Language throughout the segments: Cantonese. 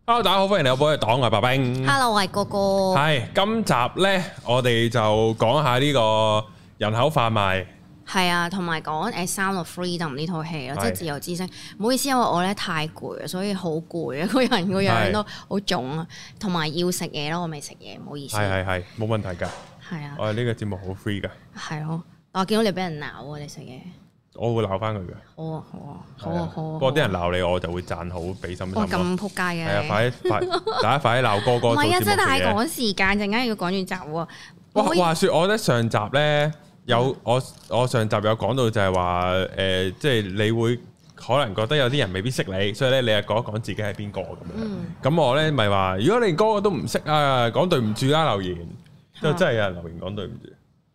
Hello， 大家好，歡迎嚟我寶藥黨，我係白兵。 Hello， 我係哥哥。 係今集咧，我哋就講下呢個人口販賣。係啊，同埋講《Sound of Freedom》呢套戲咯，即係自由之聲。唔好意思，因為我咧太攰啊，所以好攰啊，個人個樣都好腫啊，同埋要食嘢咯，我未食嘢，唔好意思。 係，冇問題㗎。 係啊， 我哋呢個節目好 free 㗎。 係咯，我見到你俾人鬧啊，你食嘢。 我會鬧翻佢嘅。好啊。不過啲人鬧你，我就會讚好，俾心心。哇， 咁撲街嘅。 係啊，大家快啲鬧哥哥。唔係啊， 真係太趕時間，陣間要趕完集喎。 話說，我覺得上集咧有我上集有講到就係話即係你會可能覺得有啲人未必識你，所以咧你又講一講自己係邊個咁樣。咁我咧咪話，如果你連哥哥都唔識啊，講對唔住啦留言，就真係有人留言講對唔住。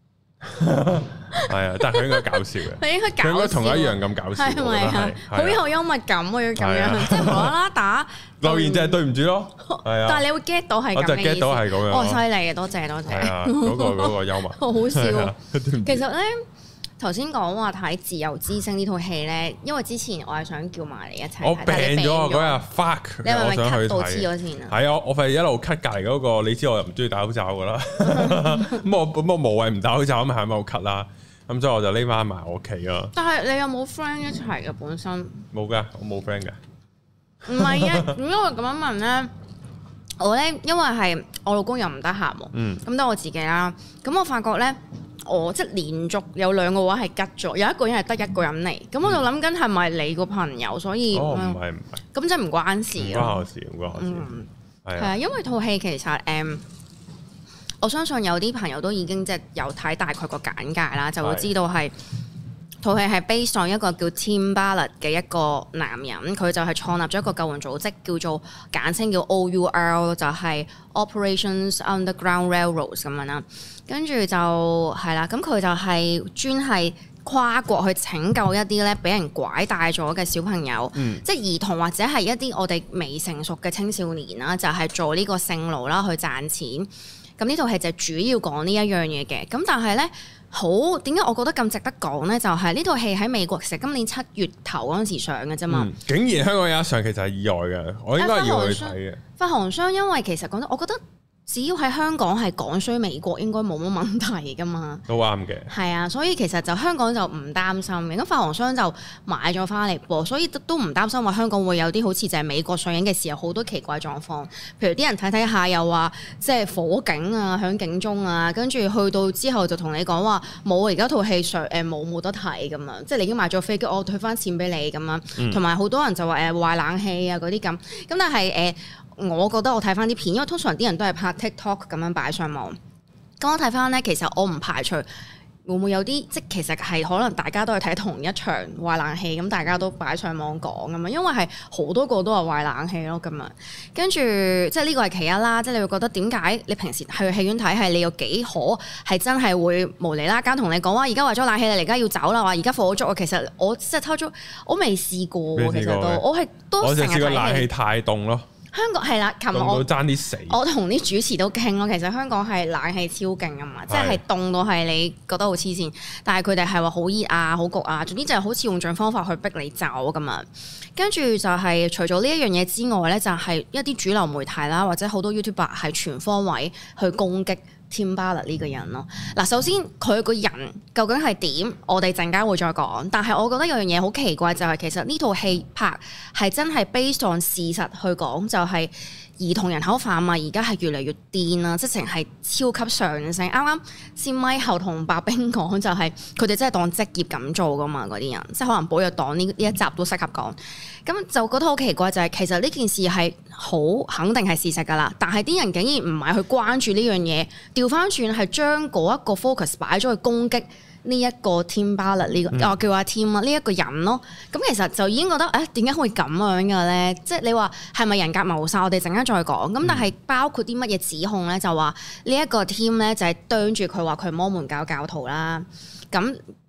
係啊，但係佢應該搞笑嘅，佢應該同我一樣咁搞笑，係咪啊？ 好有幽默感啊，要咁樣，即係無啦啦打留言就係對唔住咯，係啊。 但係你會 get 到係咁嘅意思，我就 get 到係咁樣。 哦，犀利啊，多謝。係啊，嗰個幽默， 好好笑。其實咧，頭先講話睇《自由之聲》呢套戲咧，因為之前我係想叫埋你一齊睇。我病咗嗰日 fuck， 你係咪咳到黐咗線啊？ 係啊，我費又一路咳隔離嗰個，你知我又唔中意戴口罩噶啦。咁我無謂唔戴口罩咁咪喺度咳啦。咁所以我就匿翻埋我屋企咯。但係你有冇 friend 一齊嘅本身？冇噶，我冇 friend 嘅。唔係啊，點解我咁樣問咧？我咧因為係我老公又唔得閒喎，咁得我自己啦。咁我發覺咧。我即係連續有兩個話係吉咗，有一個人係得一個人嚟，咁我就諗緊係咪你個朋友，所以唔係， 咁即係唔關事。唔關我事，唔關我事。 係啊，因為套戲其實我相信有啲朋友都已經即係有睇大概個簡介啦，就會知道係套戲係 based on 一個叫 Tim Ballard 嘅一個男人，佢就係創立咗一個救援組織，叫做簡稱叫 OUR， 就係 Operations Underground Railroads 咁樣啦。跟住就係啦，咁佢就係專係跨國去拯救一啲咧俾人拐帶咗嘅小朋友，即係兒童或者係一啲我哋未成熟嘅青少年啦，就係做呢個性奴啦去賺錢。咁呢套戲就主要講呢一樣嘢嘅。咁但係咧好點解我覺得咁值得講咧？就係呢套戲喺美國其實今年7月頭嗰陣時上嘅啫嘛。 竟然香港有一上，其實係意外嘅，我應該要去睇嘅。發行商因為其實講真，我覺得。只要喺香港係講衰美國應該冇乜問題㗎嘛， 都啱嘅。係啊，所以其實就香港就唔擔心嘅。咁發行商就買咗返嚟播，所以都唔擔心話香港會有啲好似就係美國上映嘅時候好多奇怪狀況。譬如啲人睇下又話即係火警啊，響警鐘啊，跟住去到之後就同你講話冇，而家套戲上冇得睇咁樣，即係你已經買咗飛機，我退返錢俾你咁樣。同埋好多人就話壞冷氣啊嗰啲咁。咁但係我覺得我睇翻啲片，因為通常啲人都係拍 TikTok 咁樣擺上網。咁我睇翻咧，其實我唔排除會唔會有啲，即其實係可能大家都係睇同一場壞冷氣，咁大家都擺上網講咁樣，因為係好多個都係壞冷氣咯咁樣。跟住即係呢個係其一啦，即係你會覺得點解你平時去戲院睇係你有幾可係真係會無厘啦間同你講話而家壞咗冷氣，你而家要走啦，話而家火燭啊。其實我即係偷咗，我未試過喎，其實我成日試過冷氣太凍咯。 香港係啦，琴日我爭啲死。我同啲主持都傾咯，其實香港係冷氣超勁啊嘛，即係凍到係你覺得好黐線，但係佢哋係話好熱啊、好焗啊，總之就係好似用盡方法去逼你走咁樣。跟住就係除咗呢一樣嘢之外咧，就係一啲主流媒體啦，或者好多 YouTuber 係全方位去攻擊Tim Ballard 呢個人咯。嗱，首先佢個人究竟係點，我哋陣間會再講。但係我覺得有樣嘢好奇怪，就係其實呢套戲拍係真係 based on 事實去講，就係兒童人口販賣而家係越嚟越癲啦，直情係超級上升。啱啱先咪後同白兵講，就係佢哋真係當職業咁做噶嘛，嗰啲人即係可能寶藥黨呢一集都適合講。咁就覺得好奇怪，就係其實呢件事係好肯定係事實㗎啦，但係啲人竟然唔係去關注呢樣嘢，調翻轉係將嗰一個 focus 擺咗去攻擊呢一個 Tim Ballard 呢個我叫阿 Tim 啊呢一個人咯。咁其實就已經覺得點解會咁樣嘅咧？即係你話係咪人格謀殺？我哋陣間再講。咁但係包括啲乜嘢指控咧？就話呢一個 Tim 咧就係啄住佢話佢係摩門教教徒啦。咁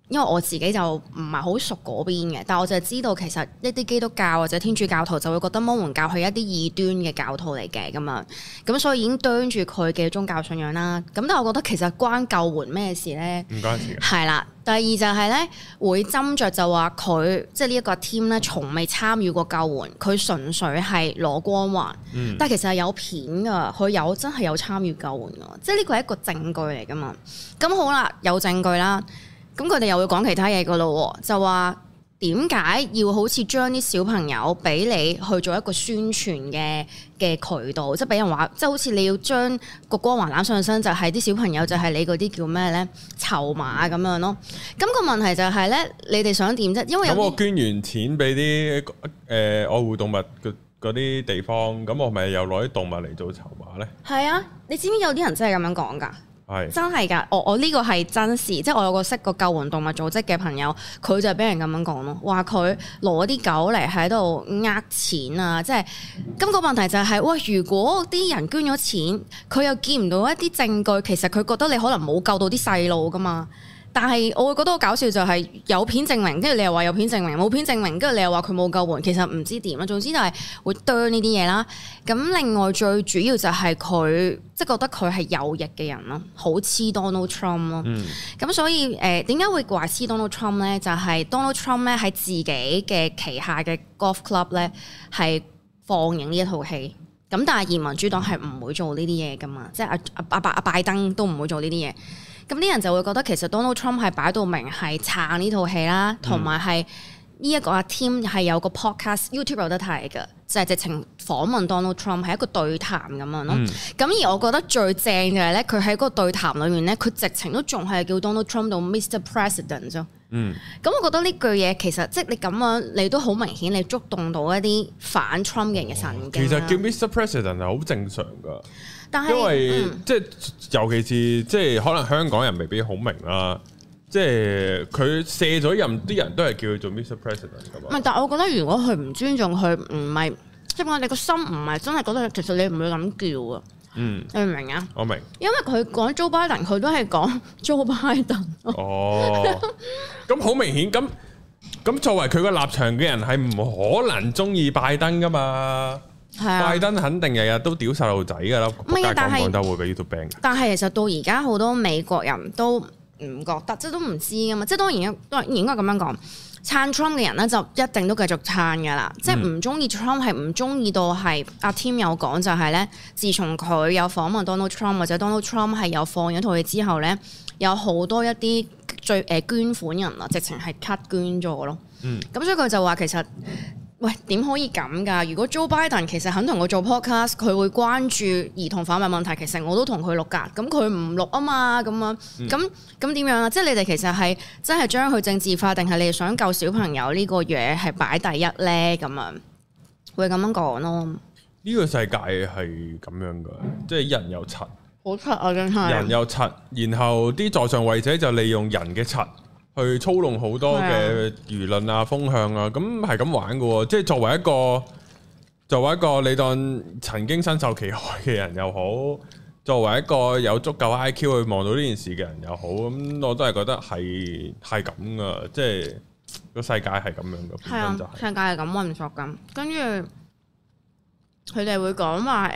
因為我自己就唔係好熟嗰邊嘅，但係我就係知道其實一啲基督教或者天主教徒就會覺得摩門教係一啲異端嘅教徒嚟嘅咁樣，咁所以已經啄住佢嘅宗教信仰啦。咁但係我覺得其實關救援咩事咧？唔關事嘅。係啦，第二就係咧會斟酌就話佢即係呢一個 team 咧，從未參與過救援，佢純粹係攞光環。但係其實係有片㗎，佢真係有參與救援㗎，即係呢個係一個證據嚟㗎嘛。咁好啦，有證據啦。咁佢哋又會講其他嘢噶咯，就話點解要好似將啲小朋友俾你去做一個宣傳嘅渠道，即係俾人話，即係好似你要將個光環攬上身，就係啲小朋友就係你嗰啲叫咩咧籌碼咁樣咯。咁個問題就係咧，你哋想點啫？因為咁我捐完錢俾啲愛護動物嗰啲地方，咁我咪又攞啲動物嚟做籌碼咧？係啊，你知唔知有啲人真係咁樣講㗎？真係㗎，我呢個係真事，即係我有個識個救援動物組織嘅朋友，佢就係俾人咁樣講咯，話佢攞啲狗嚟喺度呃錢啊，即係咁個問題就係，喂，如果啲人捐咗錢，佢又見唔到一啲證據，其實佢覺得你可能冇救到啲細路㗎嘛。但係我會覺得好搞笑就係有片證明，跟住你又話有片證明，冇片證明，跟住你又話佢冇救援，其實唔知點啦。總之就係會啄呢啲嘢啦。咁另外最主要就係佢即係覺得佢係右翼嘅人咯，好黐 Donald Trump 咯。咁所以點解會話黐 Donald Trump 咧？就係 Donald Trump 咧喺自己嘅旗下嘅 golf club 咧係放映呢一套戲。咁但係民主黨係唔會做呢啲嘢噶嘛，即係阿拜登都唔會做呢啲嘢。咁啲人就會覺得其實 Donald Trump 係擺到明係撐呢套戲啦，同埋係呢一個阿 Tim 係有個 podcast YouTube 有得睇嘅，就係直情訪問 Donald Trump 係一個對談咁樣咯。咁而我覺得最正嘅係咧，佢喺嗰個對談裏面咧，佢直情都仲係叫 Donald Trump 到 Mr. President 啫。咁我覺得呢句嘢其實即係你咁樣，你都好明顯你觸動到一啲反 Trump 嘅人嘅神經。其實叫 Mr. President 係好正常㗎。但係因為即係尤其是即係可能香港人未必好明啦，即係佢卸咗任啲人都係叫佢做 Mr. President 㗎嘛。唔係，但係我覺得如果佢唔尊重佢，唔係即係講你個心唔係真係覺得，其實你唔會咁叫啊。你明唔明啊？我明。因為佢講 Joe Biden，佢都係講 Joe Biden。哦，咁好明顯，咁作為佢個立場嘅人係唔可能中意拜登㗎嘛。拜登肯定日日都屌細路仔㗎啦，唔係但係講得會俾 YouTube ban。但係其實到而家好多美國人都唔覺得，即係都唔知㗎嘛。即係當然應該咁樣講，撐 Trump 嘅人咧就一定都繼續撐㗎啦。即係唔中意 Trump 係唔中意到係阿 Tim 有講就係咧，自從佢有訪問 Donald Trump 或者 Donald Trump 係有放咗套戲之後咧，有好多一啲捐款人啊，直情係 cut 捐咗咯。咁所以佢就話其實。喂，點可以咁㗎？如果 Joe Biden 其實肯同我做 podcast，佢會關注兒童販賣問題，其實我都同佢錄㗎。咁佢唔錄啊嘛，咁樣咁點樣啊？即係你哋其實係真係將佢政治化，定係你哋想救小朋友呢個嘢係擺第一咧？咁樣會咁樣講咯。呢個世界係咁樣㗎，即係人有柒，好柒啊！真係人有柒，然後啲在上位者就利用人嘅柒。去操弄好多嘅輿論啊、風向啊，咁係咁玩嘅喎。即係作為一個你當曾經身受其害嘅人又好，作為一個有足夠 IQ 去望到呢件事嘅人又好，咁我都係覺得係咁噶。即係個世界係咁樣嘅。係啊，世界係咁運作咁。跟住佢哋會講話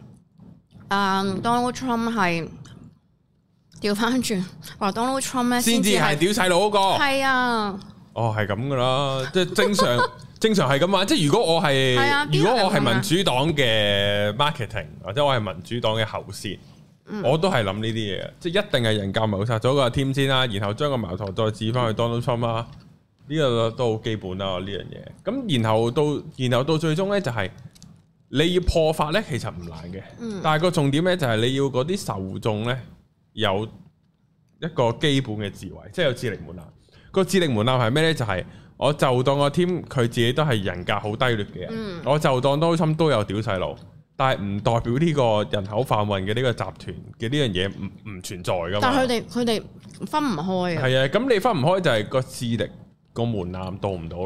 Donald Trump 係。調翻轉話 Donald Trump 咧，先至係屌細路嗰個。係啊，哦係咁噶啦，即係正常係咁話。即係如果我係民主黨嘅 marketing 或者我係民主黨嘅喉舌，我都係諗呢啲嘢，即係一定係人格謀殺咗個 team 先啦，然後將個矛頭再指翻去 Donald Trump 啦，呢個都好基本啦呢樣嘢。咁然後到最終咧就係你要破法咧，其實唔難嘅，但係個重點咧就係你要嗰啲受眾咧。有一個基本嘅智慧，即係有智力門檻。個智力門檻係咩呢？就係、是、我就當個 team 佢自己都係人格好低劣嘅人，我就當多心都有屌細路，但係唔代表呢個人口販運嘅呢個集團嘅呢樣嘢唔存在噶嘛。但係佢哋分唔開啊。係啊，咁你分唔開就係個智力個門檻到唔到咯。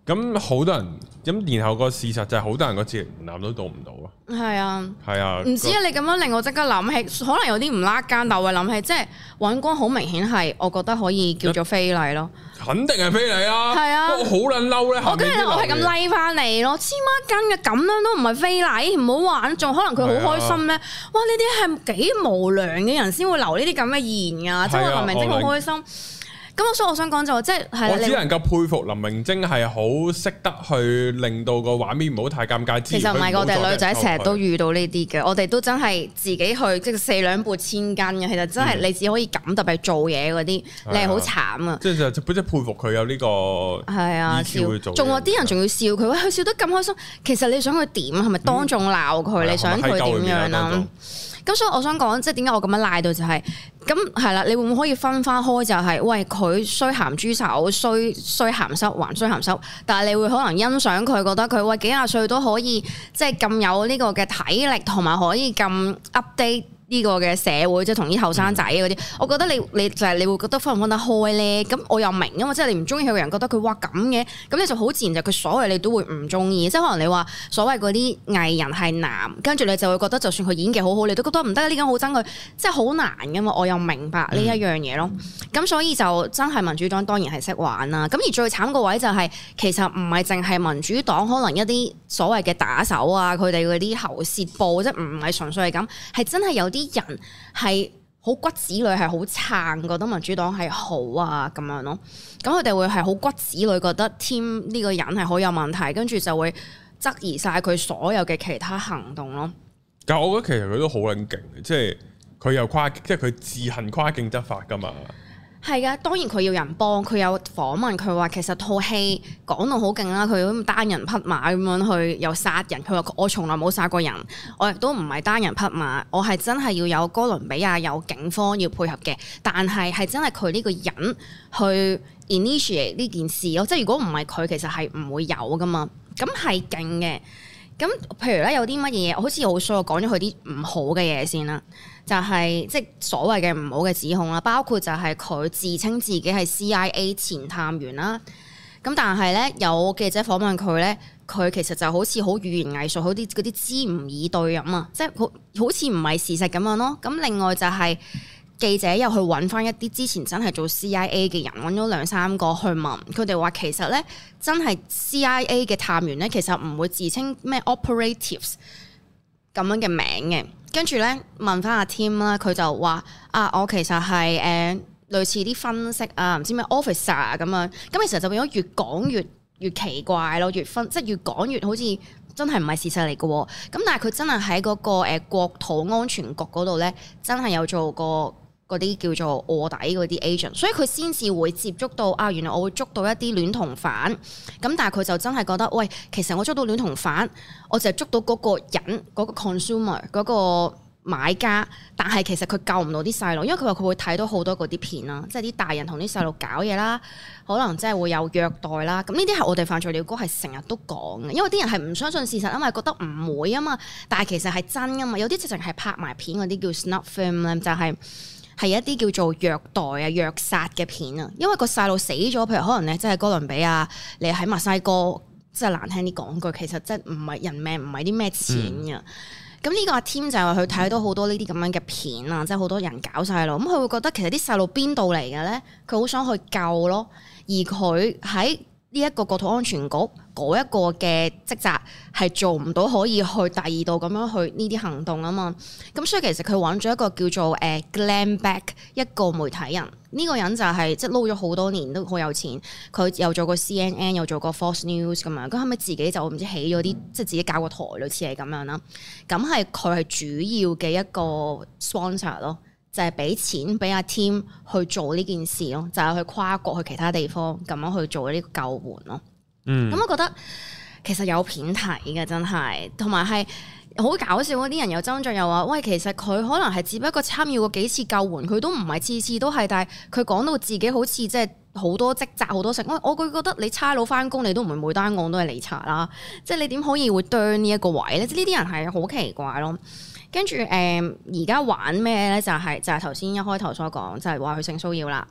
咁好多人咁，然後個事實就係好多人個智力門檻都到唔到咯。係啊，係啊，唔知啊！你咁樣令我即刻諗起，可能有啲唔拉更，但我會諗起，即係尹光好明顯係，我覺得可以叫做非禮咯。肯定係非禮啊！係啊，我好撚嬲咧。 我跟住我係咁拉翻你咯，黐孖筋嘅咁樣都唔係非禮，唔好玩，仲可能佢好開心咧。哇！呢啲係幾無良嘅人先會留呢啲咁嘅言㗎，即係林明禎好開心。咁所以我想講就即係， 我只能夠佩服林明禎係好識得去令到個畫面唔好太尷尬。 其實唔係，我哋女仔成日都遇到呢啲嘅，我哋都真係自己去即係四兩撥千斤嘅。其實真係你只可以咁特別做嘢嗰啲，你係好慘啊！即係佩服佢有呢個係啊笑，仲話啲人仲要笑佢，佢笑得咁開心。其實你想佢點？係咪當眾鬧佢？你想佢點樣啊？咁所以我想講，即係點解我咁樣賴到就係咁係啦？你會唔會可以分翻開？就係喂，佢衰鹹豬手，衰鹹濕還衰鹹濕，但係你會可能欣賞佢，覺得佢喂幾廿歲都可以即係咁有呢個嘅體力，同埋可以咁 update。呢個嘅社會即係同啲後生仔嗰啲，我覺得你就係你會覺得分唔分得開咧？咁我又明啊嘛，即係你唔中意佢嘅人覺得佢哇咁嘅，咁你就好自然就佢所謂你都會唔中意，即係可能你話所謂嗰啲藝人係男，跟住你就會覺得就算佢演技好好，你都覺得唔得，呢種好憎佢，即係好難噶嘛。我又明白呢一樣嘢咯。咁所以就真係民主黨當然係識玩啦。咁而最慘個位就係其實唔係淨係民主黨，可能一啲所謂嘅打手啊，佢哋嗰啲喉舌報，即係唔係純粹係咁，係真係有啲人係好骨子裏係好撐，覺得民主黨係好啊咁樣咯。咁佢哋會係好骨子裏覺得 Tim 呢個人係好有問題，跟住就會質疑晒佢所有嘅其他行動咯。 但係我覺得其實佢都好撚勁嘅，即係佢又即係佢自行跨境執法噶嘛。 係噶，當然佢要人幫，佢有訪問佢話其實套戲講到好勁啦，佢咁單人匹馬咁樣去又殺人，佢話我從來冇殺過人，我亦都唔係單人匹馬，我係真係要有哥倫比亞有警方要配合嘅，但係真係佢呢個人去 initiate 呢件事咯，即係如果唔係佢，其實係唔會有噶嘛，咁係勁嘅。咁譬如咧有啲乜嘢，好似好衰，我講咗佢啲唔好嘅嘢先啦。就係即係所謂嘅唔好嘅指控啦，包括就係佢自稱自己係 CIA 前探員啦。咁但係咧有記者訪問佢咧，佢其實就好似好語言藝術，好啲嗰啲支吾以對咁啊，即係好似唔係事實咁樣咯。咁另外就係記者又去揾翻一啲之前真係做 CIA 嘅人，揾咗2-3個去問佢哋話，其實咧真係 CIA 嘅探員咧，其實唔會自稱咩 operatives 咁樣嘅名嘅。跟住咧問翻阿 Tim 啦，佢就話我其實係類似啲分析啊，唔知咩 officer 啊咁樣。咁其實就變咗越講越奇怪咯，即係越講越好似真係唔係事實嚟嘅。咁但係佢真係喺嗰個國土安全局嗰度咧，真係有做過嗰啲叫做臥底嗰啲 agent，所以佢先至會接觸到原來我會捉到一啲戀童犯。咁但係佢就真係覺得，喂，其實我捉到戀童犯，我就係捉到嗰個人嗰個 consumer 嗰個買家，但係其實佢救唔到啲細路，因為佢話佢會睇到好多嗰啲片啦，即係啲大人同啲細路搞嘢啦，可能即係會有虐待啦。咁呢啲係我哋犯罪鳥歌係成日都講嘅，因為啲人係唔相信事實啊嘛，覺得唔會啊嘛，但係其實係真噶嘛。有啲直情係拍埋片嗰啲叫 snuff film 咧，就係一啲叫做虐待啊、虐殺嘅片啊，因為個細路死咗，譬如可能咧，即係哥倫比亞，你喺墨西哥，即係難聽啲講句，其實即係唔係人命，唔係啲咩錢㗎。咁呢個阿 Tim 就係話佢睇到好多呢啲咁樣嘅片啊，即係好多人搞細路，咁佢會覺得其實啲細路邊度嚟嘅咧？佢好想去救咯，而佢喺呢一個國土安全局嗰一個嘅職責係做唔到可以去第二度咁樣去呢啲行動啊嘛，咁所以其實佢揾咗一個叫做Glenn Beck 一個媒體人，呢個人就係即係撈咗好多年都好有錢，佢又做過 CNN 又做過 Fox News 咁樣，咁後尾自己就唔知起咗啲即係自己搞個台類似係咁樣啦，咁係佢係主要嘅一個 sponsor 咯。就係俾錢俾阿 Tim 去做呢件事咯，就係去跨國去其他地方咁樣去做呢個救援咯。咁我覺得其實有片睇嘅真係，同埋係好搞笑嗰啲人又爭進又話，喂，其實佢可能係只不過參與過幾次救援，佢都唔係次次都係，但係佢講到自己好似即係好多職責好多成。我佢覺得你差佬翻工，你都唔係每單案都係你查啦，即係你點可以會啄呢一個位咧？即係呢啲人係好奇怪咯。跟住而家玩咩咧？就係頭先一開頭所講，就係話佢性騷擾啦。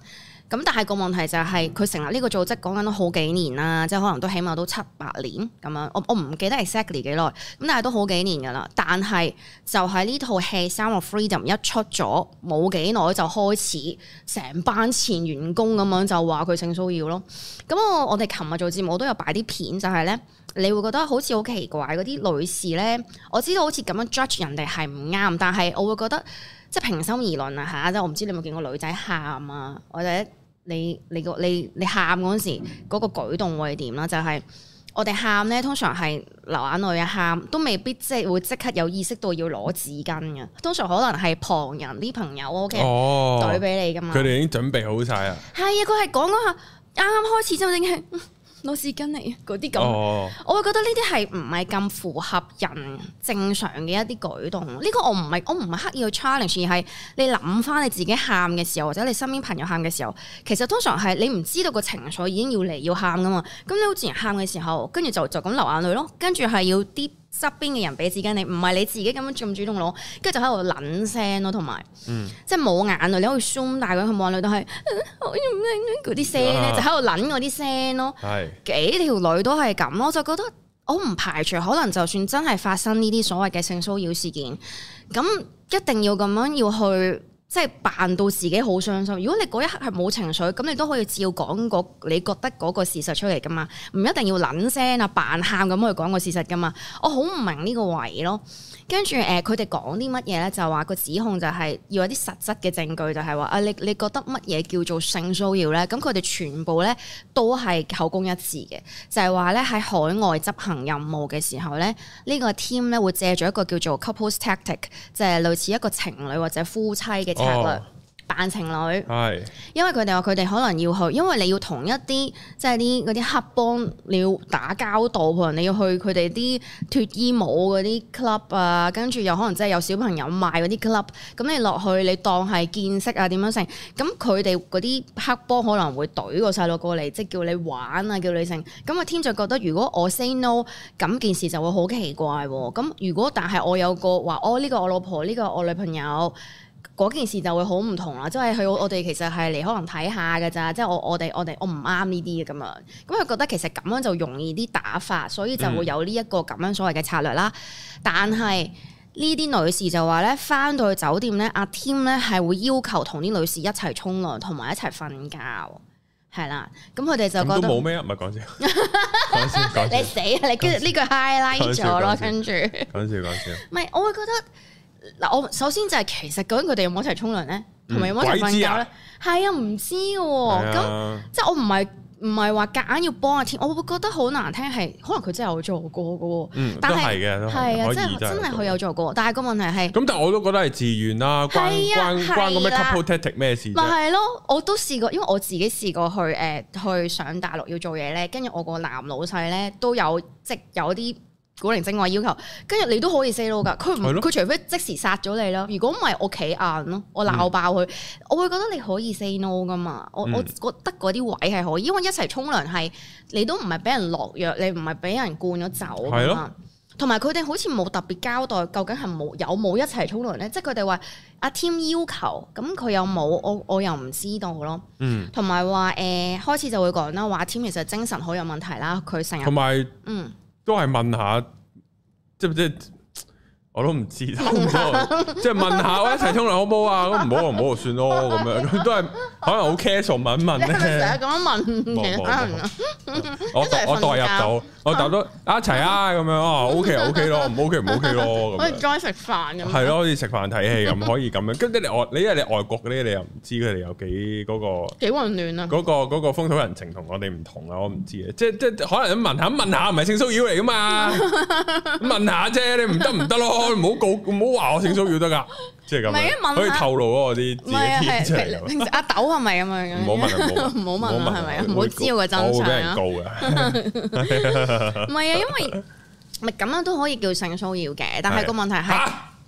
咁但係個問題就係佢成立呢個組織講緊都好幾年啦，即係可能都起碼都7-8年咁樣。我唔記得 exactly 幾耐，咁但係都好幾年㗎啦。但係就係呢套戲《Sound of Freedom》一出咗冇幾耐就開始成班前員工咁樣就話佢性騷擾咯。咁我哋琴日做節目我都有擺啲片，就係咧你會覺得好似好奇怪嗰啲女士咧，我知道好似咁樣 judge 人哋係唔啱，但係我會覺得即係平心而論啊嚇，即係我唔知你有冇見過女仔喊啊，或者你喊嗰陣時嗰個舉動會係點啦？就係我哋喊咧，通常係流眼淚啊，喊都未必即係會即刻有意識到要攞紙巾嘅，通常可能係旁人啲朋友 OK 懟俾你噶嘛。 佢哋已經準備好晒啊。係啊， 佢係講嗰下啱啱開始就淨係攞紙巾嚟嗰啲咁，我會覺得呢啲係唔係咁符合人正常嘅一啲舉動。呢個我唔係刻意去 challenge， 而係你諗翻你自己喊嘅時候，或者你身邊朋友喊嘅時候，其實通常係你唔知道個情緒已經要嚟要喊噶嘛。咁你好自然喊嘅時候，跟住就咁流眼淚咯，跟住係要啲側邊嘅人俾紙巾你，唔係你自己咁樣咁主動攞，跟住就喺度撚聲咯，同埋即係冇眼淚，你可以 zoom 大佢冇眼淚，都係嗰啲聲咧，就喺度撚嗰啲聲咯。幾條女都係咁咯，就覺得我唔排除可能就算真係發生呢啲所謂嘅性騷擾事件，咁一定要咁樣要去。即係扮到自己好傷心。如果你嗰一刻係冇情緒，咁你都可以照講你覺得嗰個事實出嚟噶嘛，唔一定要撚聲啊扮喊咁去講個事實噶嘛。我好唔明呢個位咯。跟住佢哋講啲乜嘢咧？就話個指控就係要有啲實質嘅證據，就係話你覺得乜嘢叫做性騷擾咧？咁佢哋全部咧都係口供一致嘅，就係話咧喺海外執行任務嘅時候咧，呢個 team 咧會借咗一個叫做 couples tactic，就係類似一個情侶或者夫妻嘅策略。扮情侶，係因為佢哋話佢哋可能要去，因為你要同一啲即係啲嗰啲黑幫你要打交道，可能你要去佢哋啲脫衣舞嗰啲 club 啊，跟住又可能即係有小朋友賣嗰啲 club，咁你落去你當係見識啊點樣成，咁佢哋嗰啲黑幫可能會懟個細路過嚟，即係叫你玩啊，叫你成，咁個 team 就覺得如果我 say no，咁件事就會好奇怪喎。咁如果但係我有個話，呢個我老婆，呢個我女朋友。嗰件事就會好唔同啦，即係我哋其實係嚟可能睇下㗎咋，即係我唔啱呢啲嘅咁樣，咁佢覺得其實咁樣就容易啲打發，所以就會有呢一個咁樣所謂嘅策略啦。但係呢啲女士就話咧，返到去酒店咧，阿 Tim 咧係會要求同啲女士一齊沖涼同埋一齊瞓覺，係啦。咁佢哋就覺得都冇咩，唔係講笑，講笑， 你死啊！你跟住呢句 highlight 咗咯，跟住講笑， 唔係我會覺得。嗱，我首先就係其實究竟佢哋有冇一齊沖涼咧，同埋有冇一齊瞓覺咧？係啊，唔知喎。咁即係我唔係話夾硬要幫阿天，我會覺得好難聽係，可能佢真係有做過嘅喎。但係係啊，即係真係佢有做過。但係個問題係咁， 但係我都覺得係自願啦，關個咩 couple tactic 咩事？ 咪係咯，我都試過，因為我自己試過去上大陸要做嘢咧，跟住我個男老細咧都有即有啲。古靈精怪要求，跟住你都可以 say no 㗎。佢除非即時殺咗你啦。如果唔係，我企硬咯，我鬧爆佢。我會覺得你可以 say no 㗎嘛。我覺得嗰啲位係可以，因為一齊沖涼係你都唔係俾人落藥，你唔係俾人灌咗酒㗎嘛。同埋佢哋好似冇特別交代，究竟係有冇一齊沖涼咧？即係佢哋話阿 Tim 要求，咁佢有冇？我又唔知道咯。同埋話開始就會講啦，話 Tim 其實精神好有問題啦，佢成日同埋都係問下，即我都唔知，即係問下我一齊沖涼好唔好啊？咁唔好就唔好就算咯，咁樣都係可能好 casual 問咧。成日咁樣問其他人啊？我代入到，我答到一齊啊咁樣啊 ，OK 咯，唔 OK 唔 OK 咯， 可以再食飯咁。 係咯，好似食飯睇戲咁，可以咁樣。跟住你因為你外國嗰啲，你又唔知佢哋有幾嗰個幾混亂啊？嗰個風土人情同我哋唔同啊，我唔知嘅。即可能問下，唔係性騷擾嚟噶嘛？問下啫，你唔得咯。唔好話我性騷擾得噶，即係咁，可以透露我啲自己天真係。 平時阿豆係咪咁樣？ 唔好問， 係咪啊？唔好知道個真相啊！ 我會俾人告㗎。 唔係啊，因為咪咁樣都可以叫性騷擾嘅，但係個問題係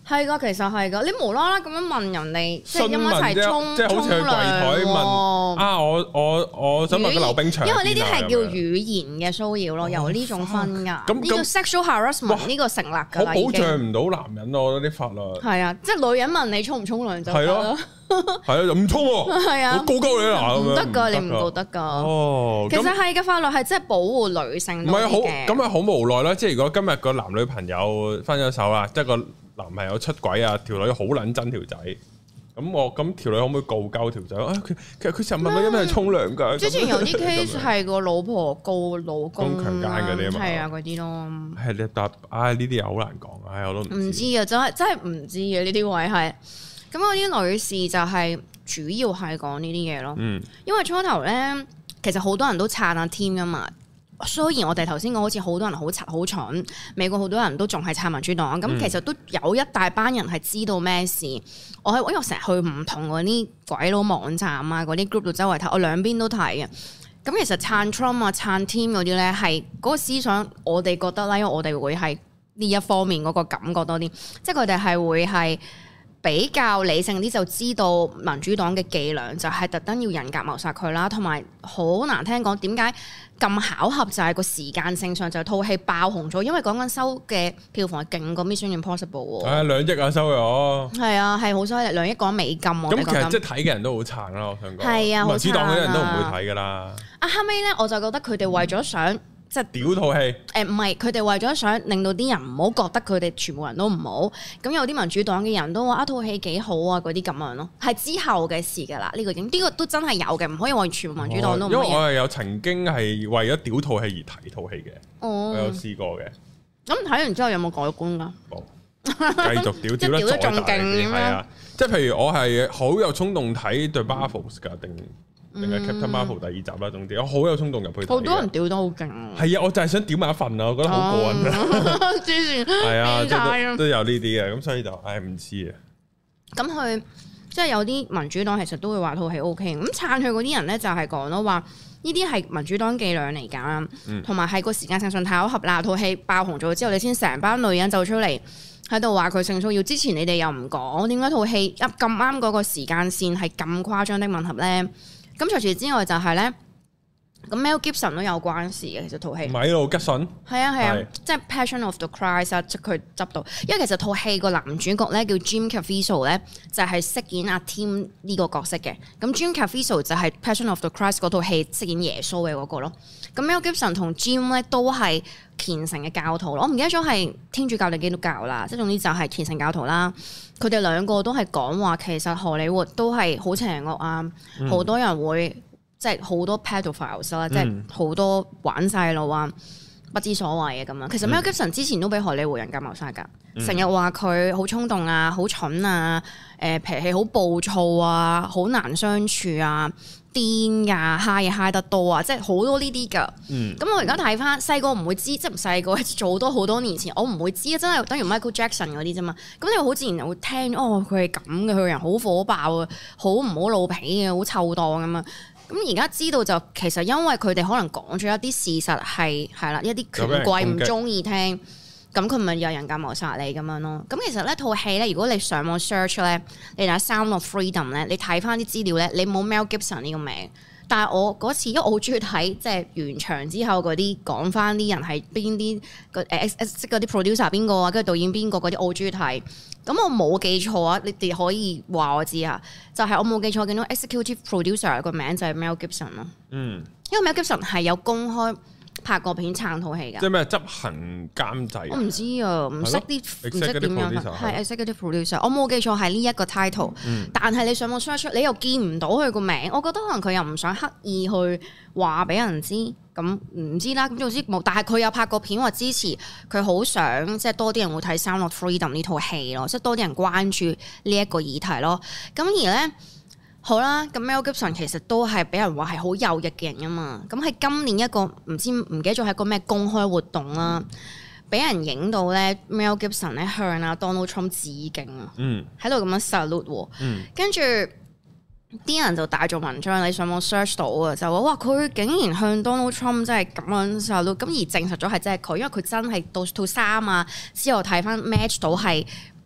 係噶，其實係噶，你無啦啦咁樣問人哋，即係一齊沖， 即係好似去櫃台問啊！我想問個溜冰場， 因為呢啲係叫語言嘅騷擾咯，由呢種分㗎。咁呢個 sexual harassment 呢個成立㗎啦， 保障唔到男人咯，我覺得啲法律係啊，即係女人問你沖唔沖涼就係咯， 係啊，就唔沖喎，係啊，我告鳩你啦， 唔得㗎，你唔告得㗎。哦，其實係嘅，法律係真係保護女性。唔係好咁咪好無奈啦！即係如果今日個男女朋友分咗手啦，即係個男朋友出軌啊，條女好撚憎條仔，咁條女可唔可以告鳩條仔？其實佢成日問我因為係沖涼㗎。之前有啲 case 係個老婆告老公強姦嗰啲啊嘛， 係啊嗰啲咯。 係你答，呢啲又好難講，我都唔知啊，真係唔知啊，呢啲位係。咁嗰啲女士就係主要係講呢啲嘢咯。因為初頭咧，其實好多人都撐阿 Tim 㗎嘛。雖然我哋頭先講好似好多人好柒好蠢，美國好多人都仲係撐民主黨，咁其實都有一大班人係知道咩事。因為我成日去唔同嗰啲鬼佬網站啊，嗰啲 group 度周圍睇，我兩邊都睇嘅。咁其實撐 Trump 啊、撐 Tim 嗰啲咧，係嗰個思想我哋覺得啦，因為我哋會係呢一方面嗰個感覺多啲，即係佢哋係會係比較理性啲，就知道民主黨嘅伎倆就係特登要人格謀殺佢啦，同埋好難聽講點解咁巧合，就係個時間性上就套戲爆紅咗，因為講緊收嘅票房係勁過 Mission Impossible 喎。2 億啊收咗。係啊，係好犀利，2億講美金喎。 咁其實即係睇嘅人都好撐啦，我想講。 係啊， 民主黨嗰啲人都唔會睇㗎啦。 後尾咧我就覺得佢哋為咗想。即係屌套戲， 唔係佢哋為咗想令到啲人唔好覺得佢哋全部人都唔好，咁有啲民主黨嘅人都話套戲幾好啊，嗰啲咁樣咯，係之後嘅事㗎啦。呢個都真係有嘅，唔可以話全部民主黨都唔好。 因為我係有曾經係為咗屌套戲而睇套戲嘅，我有試過嘅。 咁睇完之後有冇改觀㗎？ 冇，繼續屌得仲勁係啊！即係譬如我係好有衝動睇 The Marvels 㗎定係 Captain Marvel 第2集啦，總之我好有衝動入去睇。好多人屌得好勁啊！係啊，我就係想屌埋一份啊，我覺得好過癮啊！之前係啊，都有呢啲嘅，咁所以就唔知啊。咁佢即係有啲民主黨其實都會話套戲 OK，咁撐佢嗰啲人咧就係講咯，話呢啲係民主黨伎倆嚟㗎，同埋係個時間性上太巧合啦。套戲爆紅咗之後，你先成班女人走出嚟喺度話佢性騷擾，之前你哋又唔講，點解套戲咁啱嗰個時間線係咁誇張的吻合咧？咁除此之外就係咧，咁 Mel Gibson 都有關事嘅，其實套戲。米路吉遜。係啊，即係 Passion of the Christ 啊，即佢執到。因為其實套戲個男主角咧叫 Jim Caviezel 咧，就係飾演阿 Tim 呢個角色嘅。咁 Jim Caviezel 就係 Passion of the Christ 嗰套戲飾演耶穌嘅嗰個咯。咁 Mel Gibson 同 Jim 咧都係虔誠嘅教徒咯。我唔記得咗係天主教定基督教啦，即係總之就係虔誠教徒啦。佢哋兩個都係講話，其實荷里活都係好邪惡啊！好多人會即係好多 pedophiles 啦，即係好多玩細路啊，不知所謂嘅咁樣。其實 Mel Gibson 之前都俾荷里活人格謀殺㗎，成日話佢好衝動啊、好蠢啊、脾氣好暴躁啊、好難相處啊、癲㗎、嗨嘢嗨得多啊，即係好多呢啲㗎。咁我而家睇翻細個唔會知，即係唔細個做好多年前，我唔會知啊，真係等於 Michael Jackson 嗰啲啫嘛。咁你好自然就會聽哦，佢係咁嘅，佢個人好火爆啊，好唔好老脾嘅，好臭檔咁啊。咁而家知道就其實因為佢哋可能講咗一啲事實係啦，一啲權貴唔中意聽，咁佢咪有人格謀殺你咁樣咯。咁其實呢套戲咧，如果你上網 search 咧，你打 Sound of Freedom 咧，你睇翻啲資料咧，你冇 Mel Gibson 呢個名。但係我嗰次，因為我好中意睇即係完場之後嗰啲講翻啲人係邊啲即嗰啲 producer 邊個啊，跟住導演邊個嗰啲，我好中意睇。咁我冇記錯啊，你哋可以話我知啊。就係我冇記錯，見到 executive producer 個名就係 Mel Gibson 咯。因為 Mel Gibson 係有公開拍過片撐套戲㗎。即係咩執行監製？我唔知啊，唔識點樣。係 executive producer，我冇記錯係呢一個 title。但係你上網 search 你又見唔到佢個名，我覺得可能佢又唔想刻意去話俾人知。咁唔知啦，咁總之冇。但係佢有拍過片話支持，佢好想即係多啲人會睇《Sound of Freedom》呢套戲咯，即係多啲人關注呢一個議題咯。咁而咧好啦，咁 Mel Gibson 其實都係俾人話係好右翼嘅人啊嘛。咁喺今年一個唔記得咗係個咩公開活動啦，俾人影到咧 Mel Gibson 咧向阿 Donald Trump 致敬啊，喺度咁樣 salute，跟住。啲人就大做文章，你上網 search 到啊，就話哇佢竟然向 Donald Trump 真係咁樣 salute，咁而證實咗係真係佢，因為佢真係到套衫啊之後睇翻 match 到係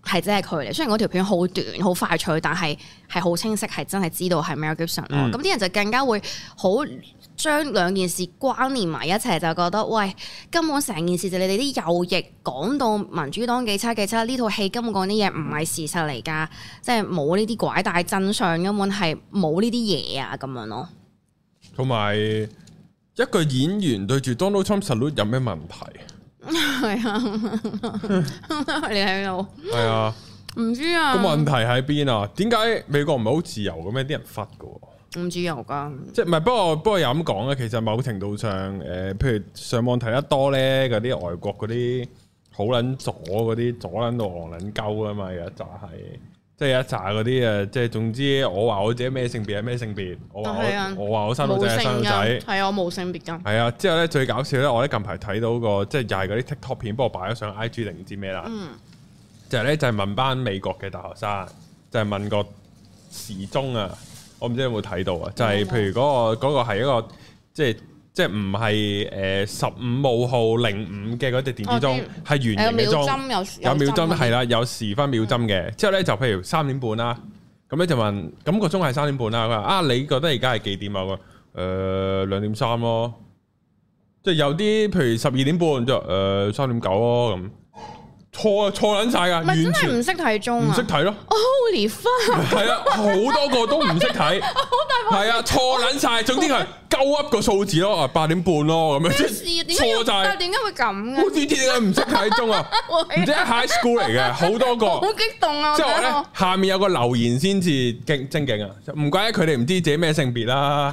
係真係佢嚟。雖然嗰條片好短好快脆，但係好清晰，係真係知道係 Mel Gibson 咯。咁啲人就更加會好將兩件事關聯埋一齊，就覺得喂，根本成件事就你哋啲右翼講到民主黨幾差幾差，呢套戲根本講啲嘢唔係事實嚟㗎，即係冇呢啲拐帶真相，根本係冇呢啲嘢啊咁樣咯。 同埋一個演員對住 Donald Trump salute 有咩問題？ 係啊，你喺度？ 係啊， 唔知啊。個問題喺邊啊？點解美國唔係好自由嘅咩？啲人忽㗎。 唔自由噶， 即係唔係？不過又咁講咧，其實某程度上，譬如上網睇得多咧，嗰啲外國嗰啲好撚左嗰啲左撚到戇撚鳩啊嘛，有一紮係，即係有一紮嗰啲即係總之我話我自己咩性別係咩性別，我話我生女仔係生女仔， 係啊，我冇性別㗎。 係啊，之後咧最搞笑咧，我咧近排睇到個即係又係嗰啲 TikTok 片，不過擺咗上 IG 定唔知咩啦，就係咧就係問班美國嘅大學生，就係問個時鐘啊。我唔知有冇睇到啊，就係譬如嗰個係一個即係唔係15號05嘅嗰隻電子鐘，係圓形嘅鐘，有秒針係啦，有時分秒針嘅。之後咧就譬如3點半啦，咁咧就問，咁個鐘係3點半啦。佢話啊，你覺得而家係幾點啊？我2點3咯，即係有啲譬如12點半就3點9咯咁。錯撚晒㗎，完全唔識睇鐘啊！ 唔識睇咯 ，Holy fuck！ 係啊，好多個都唔識睇，係啊，錯撚晒。總之係鳩噏個數字咯，8點半咯咁樣，錯晒。 但係點解會咁嘅？ 好似點解唔識睇鐘啊？唔知 high school 嚟嘅，好多個， 好激動啊！ 之後咧下面有個留言先至正經啊，唔怪得佢哋唔知自己咩性別啦。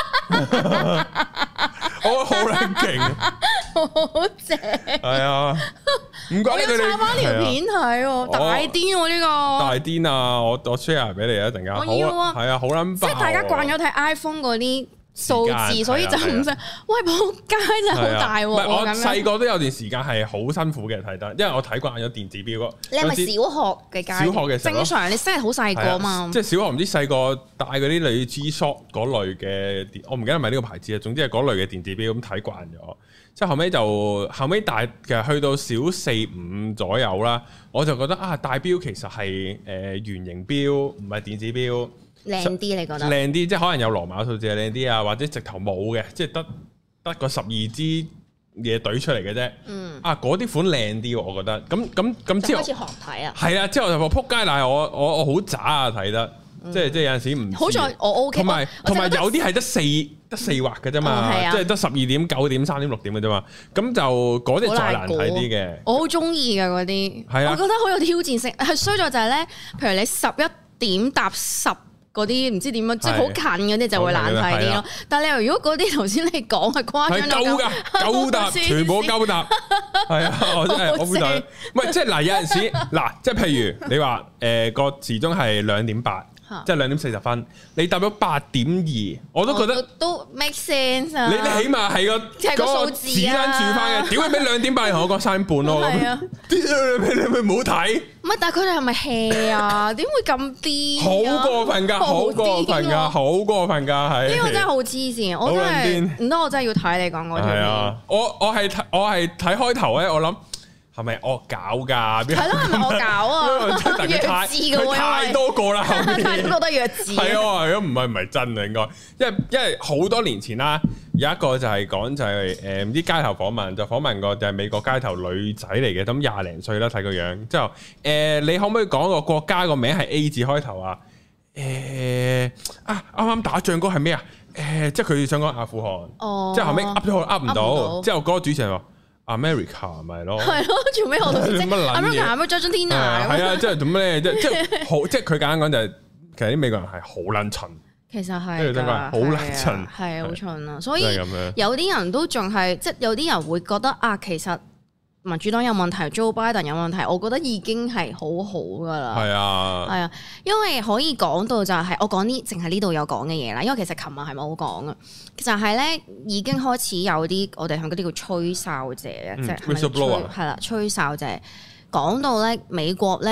我好撚勁， 好正， 係啊，唔怪得佢哋。我要插翻條片睇，大癲喎呢個，大癲啊！我 share 俾你一陣間， 我要啊， 係啊，好撚爆， 即係大家慣咗睇 iPhone 嗰啲數字，所以就唔識。喂，仆街真係好大喎！ 我細個都有段時間係好辛苦嘅睇得，因為我睇慣咗電子錶咯。 你係咪小學嘅階段？小學嘅時候正常，你真係好細個嘛？ 即係小學唔知細個戴嗰啲類 G-Shock 嗰類嘅，我唔記得係咪呢個牌子啊。總之係嗰類嘅電子錶咁睇慣咗，即係後尾大其實去到小4、5左右啦，我就覺得啊，戴錶其實係圓形錶，唔係電子錶。 靚啲你覺得？ 靚啲，即係可能有羅馬數字係靚啲啊，或者直頭冇嘅，即係得個12支嘢懟出嚟嘅啫。啊，嗰啲款靚啲，我覺得。咁之後開始學睇啊。 係啊，之後就話撲街，但係我好渣啊睇得，即係有陣時唔。 好在我 OK。同埋有啲係得四畫嘅啫嘛，即係得12點、9點、3點、6點嘅啫嘛。咁就嗰啲再難睇啲嘅。 我好中意㗎嗰啲，我覺得好有挑戰性。係衰在就係咧，譬如你11點搭10。嗰啲唔知點樣，即係好近嗰啲就會難睇啲咯。但係你如果嗰啲頭先你講係誇張到鳩答，全部鳩答，係啊，我真係我會睇。唔係即係嗱，有陣時嗱，即係譬如你話個時鐘係2點8，即係2點40分，你答咗8點2，我都覺得都 make sense 啊。 你起碼係個數字指跟住翻嘅，屌你俾2點8，同我講3點半咯。係啊，你咪唔好睇。唔係，但係佢哋係咪 hea 啊？點會咁癲？好過分㗎，好過分㗎，好過分㗎，係呢個真係好黐線，我真係唔得，我真係要睇你講嗰條片。係啊，我係睇開頭咧，我諗係咪惡搞㗎？係咯，係咪惡搞啊？弱智嘅喎，太多個啦，太多覺得弱智。係啊，如果唔係真啊，應該，因為好多年前啦。有一個就係講就係唔知街頭訪問，就訪問過就係美國街頭女仔嚟嘅，咁20零歲啦，睇個樣之後你可唔可以講個國家個名係 A 字開頭啊？啱啱打仗嗰係咩啊？即係佢想講阿富汗，之後後尾噏咗噏唔到，之後嗰個主持人話 America 咪咯，係咯，做咩我都知 America 咩 Argentina 係啊，即係做咩即係好，即係佢簡單講就係其實啲美國人係好撚蠢。其實係㗎，好撚蠢，係好蠢啊！所以有啲人都仲係，即係有啲人會覺得啊，其實民主黨有問題，Joe Biden 有問題，我覺得已經係好好㗎啦。係啊，係啊，因為可以講到就係我講啲淨係呢度有講嘅嘢啦。因為其實琴日係冇講嘅，就係咧已經開始有啲我哋向嗰啲叫吹哨者啊，即係係啦，吹哨者講到咧美國咧。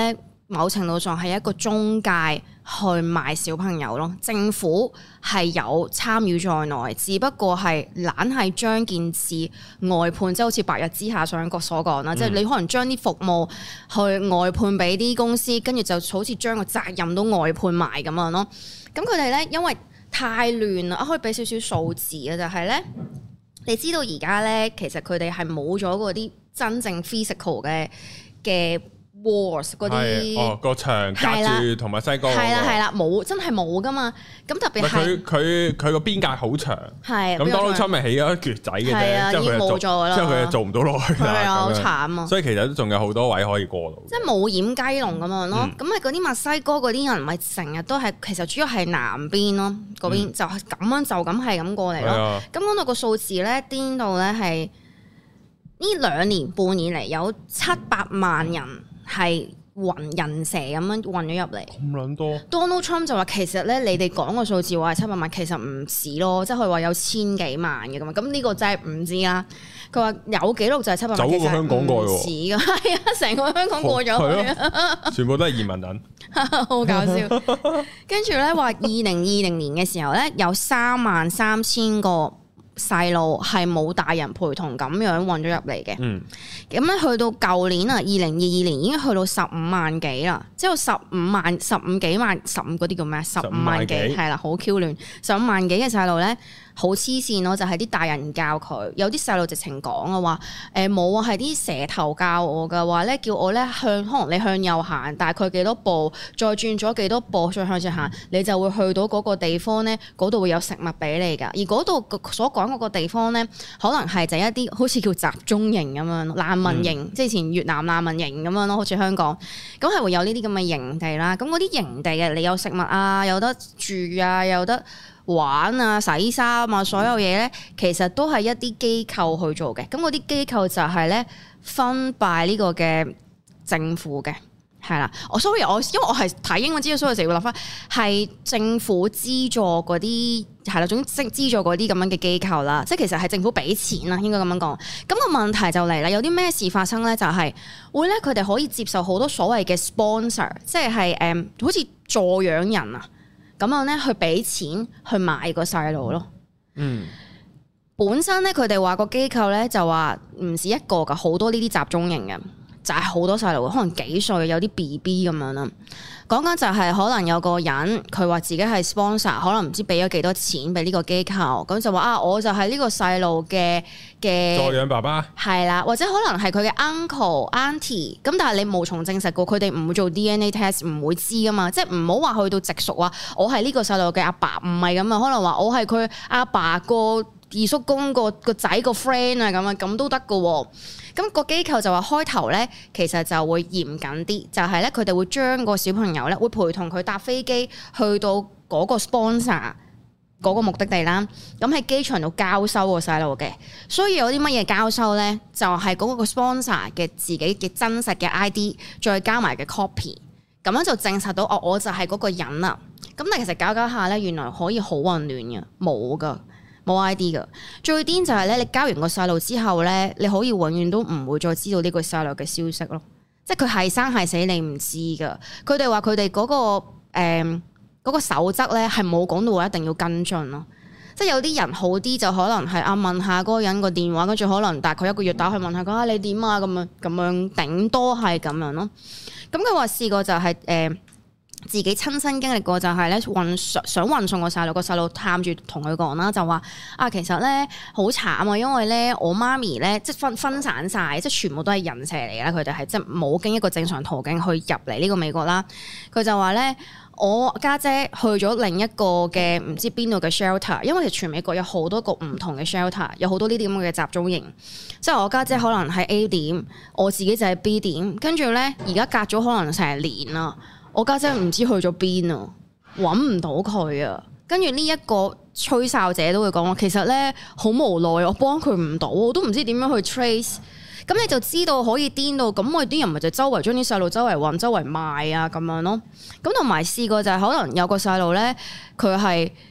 某程度上係一個中介去賣小朋友咯。政府係有參與在內，只不過係懶係將件事外判，即係好似白日之下上個所講啦，即係你可能將啲服務去外判俾啲公司，跟住就好似將個責任都外判埋咁樣咯。咁佢哋咧因為太亂啦，我可以俾少少數字啊，就係咧，你知道而家咧其實佢哋係冇咗嗰啲真正 physical 嘅 walls 嗰啲個牆隔住同墨西哥係啦，冇真係冇噶嘛。咁特別係佢個邊界好長，係咁 Donald Trump 咪起咗一橛仔嘅啫， 已經冇咗啦， 之後佢就做唔到落去啦， 係啊，好慘啊！ 所以其實都仲有好多位可以過到， 即係冇掩雞籠咁樣咯。咁係嗰啲墨西哥嗰啲人咪成日都係其實主要係南邊咯，嗰邊就係咁係咁過嚟咯。咁講到個數字咧，癲到咧係呢2年半以嚟有700萬人。係人蛇咁樣運咗入嚟， 咁撚多。 Donald Trump 就話其實咧，你哋講個數字話係700萬，其實唔止咯，即係佢話有千幾萬嘅咁。咁呢個真係唔知啦。佢話有記錄就係700萬， 走過香港過喎， 唔止㗎，係啊，成個香港過咗去， 全部都係移民人， 好搞笑。跟住咧話2020年嘅時候咧，有33000個細路係冇大人陪同咁樣運咗入嚟嘅，咁咧去到舊年啊，2022年已經去到15萬幾啦，即係15幾萬15嗰啲叫咩？15萬幾係啦，好 Q 亂，15萬幾嘅細路咧。好黐線咯，就係啲大人教佢，有啲細路直情講啊話，冇啊，係啲蛇頭教我噶，話咧叫我咧可能你向右行大概幾多步，再轉咗幾多步，再向前行，你就會去到嗰個地方咧，嗰度會有食物俾你噶。而嗰度所講嗰個地方咧，可能係就一啲好似叫集中營咁樣，難民營，即係以前越南難民營咁樣咯，好似香港，咁係會有呢啲咁嘅營地啦。咁嗰啲營地嘅，你有食物啊，有得住啊，有得玩啊、洗衫啊，所有嘢咧，其實都係一啲機構去做嘅。咁嗰啲機構就係咧分拜呢個嘅政府嘅，係啦。因為我係睇英文資料，所以成日會諗翻係政府資助嗰啲係啦，總之資助嗰啲咁樣嘅機構啦。即係其實係政府俾錢啦，應該咁樣講。咁個問題就嚟啦，有啲咩事發生咧？就係會咧，佢哋可以接受好多所謂嘅 sponsor， 即係好似助養人啊。咁樣咧，去俾錢去買個細路咯。本身咧，佢哋話個機構咧就話唔止一個噶，好多呢啲集中營嘅，就係好多細路，可能幾歲有啲 BB 咁樣啦。講緊就係可能有個人佢話自己係 sponsor， 可能唔知俾咗幾多錢俾呢個機構，咁就話啊，我就係呢個細路嘅助養爸爸， 係啦，或者可能係佢嘅 uncle auntie， 咁但係你無從證實過，佢哋唔會做 DNA test， 唔會知噶嘛，即係唔好話去到直屬話我係呢個細路嘅阿爸，唔係咁啊，可能話我係佢阿爸個二叔公個仔個 friend 啊，咁啊，咁都得噶喎。咁個機構就話開頭咧，其實就會嚴謹啲，就係咧佢哋會將個小朋友咧會陪同佢搭飛機去到嗰個 sponsor 嗰個目的地啦。咁喺機場度交收個細路嘅，所以有啲乜嘢交收咧，就係嗰個 sponsor 嘅自己嘅真實嘅 ID， 再加埋嘅 copy， 咁樣就證實到我就係嗰個人啦。咁但係其實搞下咧，原來可以好混亂嘅，冇噶。冇 ID 噶，最癲就係咧，你交完個細路之後咧，你可以永遠都唔會再知道呢個細路嘅消息咯。即係佢係生係死，你唔知噶。佢哋話佢哋嗰個嗰個守則咧係冇講到話一定要跟進咯。即係有啲人好啲就可能係問下嗰個人個電話，跟住可能大概1個月打去問下佢你點啊，咁樣頂多係咁樣咯。咁佢話試過就係自己親身經歷過就係咧想運送個細路探住同佢講啦，就話其實咧好慘啊，因為咧我媽咪咧即係分散晒，即係全部都係人蛇嚟啦，佢哋係即係冇經一個正常途徑去入嚟呢個美國啦。佢就話咧我家姐去咗另一個嘅唔知邊度嘅 shelter， 因為其實全美國有好多個唔同嘅 shelter， 有好多呢啲咁嘅集中營。即係我家姐可能喺 A 點，我自己就喺 B 點，跟住咧而家隔咗可能成年啦。我家姐唔知去咗邊啊，揾唔到佢啊。跟住呢一個吹哨者都會講話，其實咧好無奈，我幫佢唔到，我都唔知點樣去 trace。咁你就知道可以癲到，咁我啲人咪就周圍將啲細路周圍運、周圍賣啊咁樣咯。咁同埋試過就係可能有個細路咧，佢係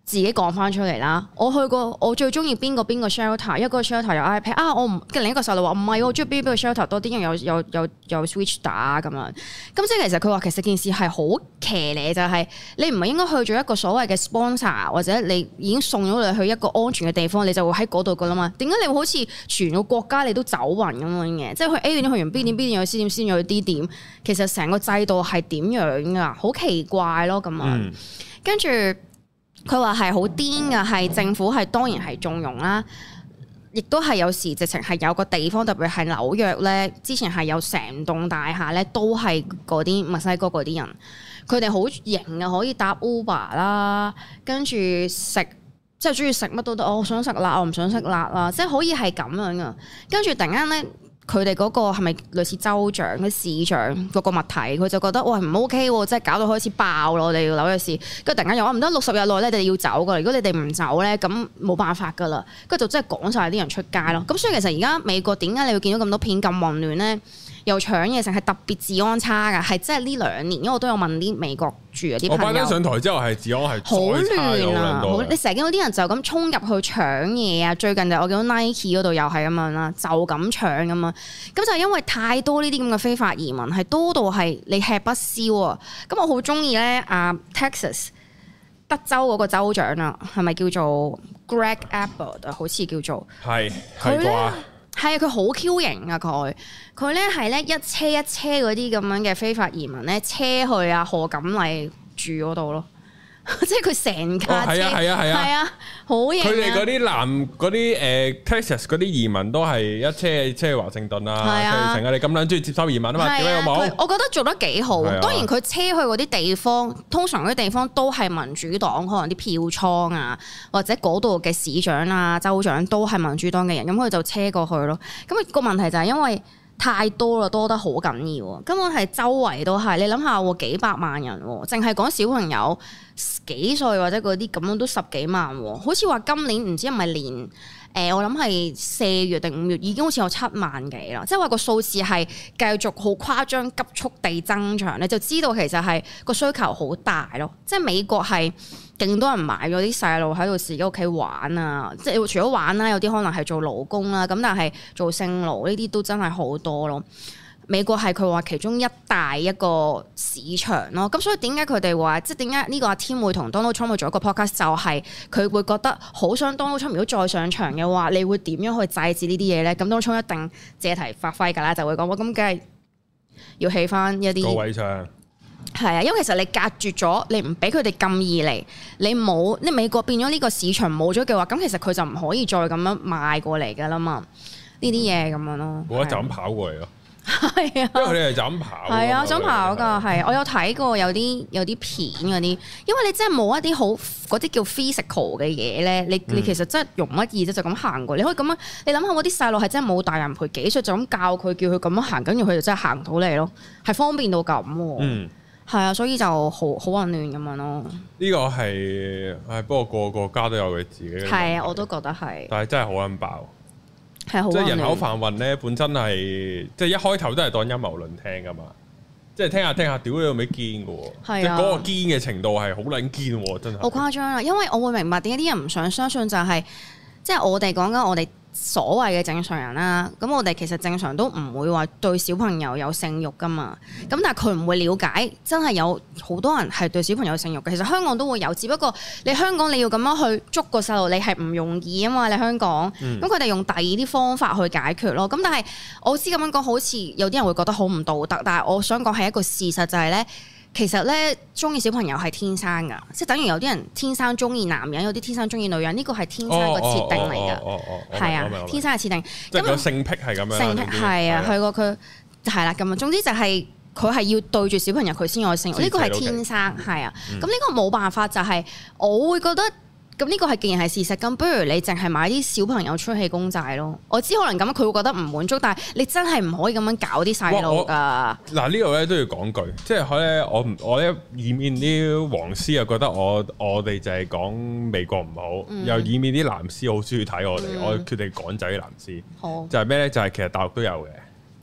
自己講翻出嚟啦，我去過，我最中意邊個 shelter， 一個 shelter 有 iPad 啊，我唔跟另一個細路話唔係，我中意邊個 shelter 多啲，因為有 Switch 打咁樣。咁即係其實佢話其實件事係好騎呢，就係你唔係應該去咗一個所謂嘅 sponsor， 或者你已經送咗你去一個安全嘅地方，你就會喺嗰度噶啦嘛。點解你會好似全個國家你都走勻咁樣嘅？即係去 A 點去完 B 點 B 點又去 C 點 C 點又去 D 點，其實成個制度係點樣噶？好奇怪咯咁樣，跟住。佢話係好癲㗎，係政府係當然係縱容啦，亦都係有時直情係有個地方，特別係紐約咧，之前係有成棟大廈咧，都係嗰啲墨西哥嗰啲人，佢哋好型啊，可以搭 Uber 啦，跟住食即係中意食乜都得，我想食辣，我唔想食辣啦，即係可以係咁樣㗎，跟住突然間咧。佢哋嗰個係咪類似州長嘅市長嗰個物體？佢就覺得喂唔 OK 喎，即係搞到開始爆咯！我哋紐約市，跟住突然間又話唔得60日內咧，你哋要走噶。如果你哋唔走咧，咁冇辦法噶啦。跟住就真係趕晒啲人出街咯。咁所以其實而家美國點解你會見到咁多片咁混亂咧？又搶嘢，成係特別治安差㗎，係真係呢2年，因為我都有問啲美國住嗰啲朋友。我拜登上台之後係治安係好亂啊！你成日見到啲人就咁衝入去搶嘢啊！最近就我見到 Nike 嗰度又係咁樣啦，就咁搶咁樣。咁就係因為太多呢啲咁嘅非法移民，係多到係你吃不消啊！咁我好中意咧Texas 德州嗰個州長啊，係咪叫做 Greg Abbott 啊？好似叫做係啩？係啊，佢好 Q 型啊！佢咧係咧一車一車嗰啲咁樣嘅非法移民咧，車去啊賀錦麗住嗰度咯，即係佢成架車係啊，好型啊！佢哋嗰啲嗰啲Texas 嗰啲移民都係一車去華盛頓啊，成日你咁撚中意接收移民啊嘛，點解有冇？我覺得做得幾好。當然佢車去嗰啲地方，通常嗰啲地方都係民主黨，可能啲票倉啊，或者嗰度嘅市長啊、州長都係民主黨嘅人，咁佢就車過去咯。咁個問題就係因為太多啦，多得好緊要，根本係周圍都係。你諗下喎，幾百萬人，淨係講小朋友幾歲或者嗰啲咁樣都10幾萬，好似話今年唔知係咪年我諗係4月定5月已經好似有7萬幾啦，即係話個數字係繼續好誇張急速地增長，你就知道其實係個需求好大咯。即係美國係勁多人買咗啲細路喺度自己屋企玩啊，即係除咗玩啦，有啲可能係做勞工啦，咁但係做性勞呢啲都真係好多咯。美國係佢話其中一大一個市場咯，咁所以點解佢哋話即係點解呢個阿 Tim 會同 Donald Trump 去做一個 podcast 就係佢會覺得好想 Donald Trump 如果再上場嘅話，你會點樣去制止呢啲嘢咧？咁 Donald Trump 一定借題發揮㗎啦，就會講話咁梗係要起翻一啲高位場。係啊，因為其實你隔絕咗，你唔俾佢哋咁易嚟，你美國變咗呢個市場冇咗嘅話，咁其實佢就唔可以再咁樣賣過嚟㗎啦嘛。呢啲嘢咁樣咯，冇得就咁跑過嚟咯。係啊，因為佢哋係就咁跑。係啊，想跑㗎，係。我有睇過有啲片嗰啲，因為你真係冇一啲好嗰啲叫 physical 嘅嘢咧，你其實真係容乜易啫，就咁行過。你可以咁樣，你諗下嗰啲細路係真係冇大人陪，幾歲就咁教佢，叫佢咁樣行，跟住佢就真係行到嚟咯，係方便到咁。係啊，所以就好混亂咁樣咯。呢個係不過個國家都有佢自己嘅。係啊，我都覺得係。但係真係好撚爆。即係人口販運咧，本身係即係一開頭都係當陰謀論聽噶嘛，即係聽下，屌你有咩堅嘅喎，即係嗰個堅嘅程度係好撚堅喎，真係好誇張啊！因為我會明白點解啲人唔想相信就係，即係我哋講緊我哋所謂嘅正常人啦，咁我哋其實正常都唔會話對小朋友有性慾噶嘛，咁但係佢唔會了解，真係有好多人係對小朋友有性慾嘅。其實香港都會有，只不過你香港你要咁樣去捉個細路，你係唔容易啊嘛。你香港，咁佢哋用第二啲方法去解決咯。咁但係我知咁樣講，好似有啲人會覺得好唔道德，但係我想講係一個事實就係咧。其實咧，中意小朋友係天生噶，即係等於有啲人天生中意男人，有啲天生中意女人，呢個係天生個設定嚟噶，係啊，天生嘅設定。即係個性癖係咁樣。性癖係啊，佢係啦咁啊。總之就係佢係要對住小朋友佢先有性慾，呢個係天生係啊。咁呢個冇辦法，就係我會覺得。咁呢個係既然係事實，咁不如你淨係買啲小朋友出氣公仔咯。我知可能咁佢會覺得唔滿足，但係你真係唔可以咁樣搞啲細路㗎。嗱呢度咧都要講句，即係咧我咧以免啲黃絲又覺得我哋就係講美國唔好，又以免啲藍絲好中意睇我哋，我決定趕走啲藍絲。好就係咩咧？就係其實大陸都有嘅。